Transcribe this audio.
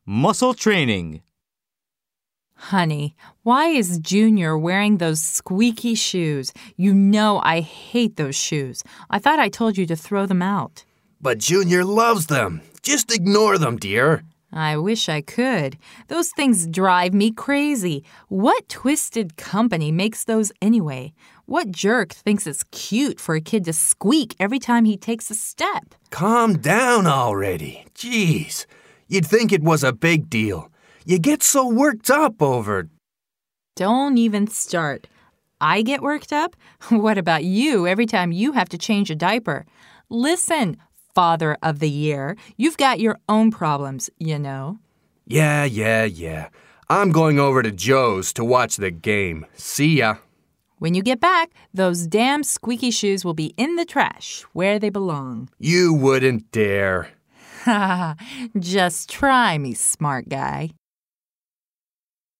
Muscle training. Honey, why is Junior wearing those squeaky shoes? You know I hate those shoes. I thought I told you to throw them out. But Junior loves them. Just ignore them, dear. I wish I could. Those things drive me crazy. What twisted company makes those anyway? What jerk thinks it's cute for a kid to squeak every time he takes a step? Calm down already. Jeez. You'd think it was a big deal. You get so worked up over... Don't even start. I get worked up? What about you every time you have to change a diaper? Listen, Father of the Year, you've got your own problems, you know. Yeah. I'm going over to Joe's to watch the game. See ya. When you get back, those damn squeaky shoes will be in the trash where they belong. You wouldn't dare. Just try me, smart guy.